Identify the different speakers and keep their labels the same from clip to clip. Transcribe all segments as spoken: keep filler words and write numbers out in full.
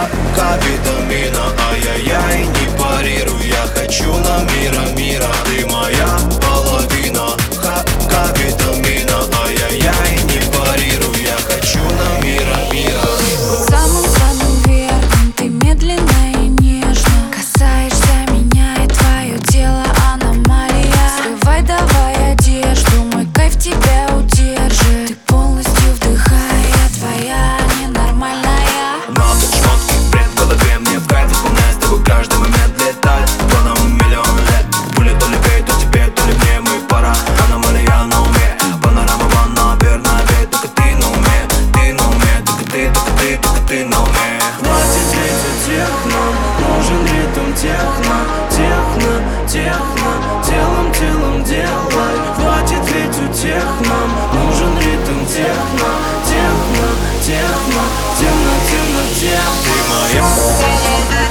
Speaker 1: Ка витамина, ай-яй-яй, не парируй. Я хочу на мира, мира. Ты моя половина. Ка витамина, ай-яй-яй, не парируй. Я хочу на мира, мира.
Speaker 2: Самым-самым верхом ты медленно и нежно касаешься меня, и твое тело аномалия. Срывай давай одежду, мой кайф тебя удержит. Ты полностью вдыхай, я твоя ненормальная.
Speaker 1: Надо шмотки, бред в голове, мне в кайф исполнять с тобой каждый момент летать. Кто нам миллион лет, пуля то ли ей, то тебе, то ли мне, мы пара. Аномалия на уме, панорама ванна, верно, ведь только ты на уме, ты на уме, только ты, только ты, только ты на уме. Хватит лететь техно, нужен ритм техно, техно, техно, телом, телом делай. Хватит лететь техно, нужен ритм техно, техно, техно, темно, темно, темно. Ты моя.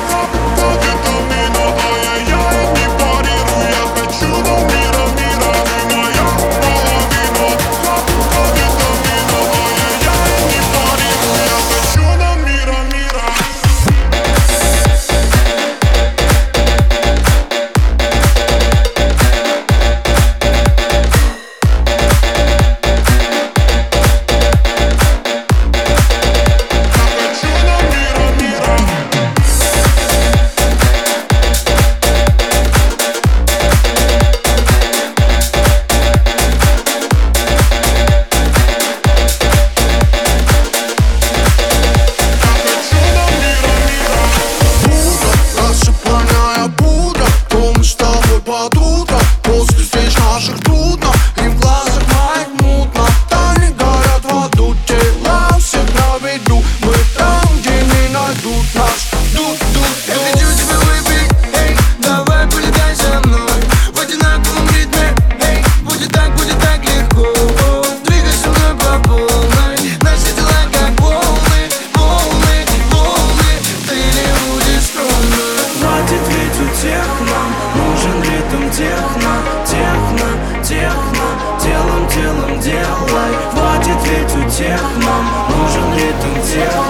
Speaker 3: Под утро, после встреч наших трудно, и в глазах моих мутно. Тайны горят в аду, тела у всех на виду. Мы там, где не найдут нас. Дуд, дуд, я хочу тебя выпить, эй, давай полетай со мной в одинаковом ритме, эй, будет так, будет так легко. Двигай со мной по полной, наши тела как волны, волны, волны. Ты не будешь скромной.
Speaker 1: Хватит ведь у тех нам нужен ритм техно, техно, техно, телом, телом делай. Хватит ведь у тех нам нужен ритм техно.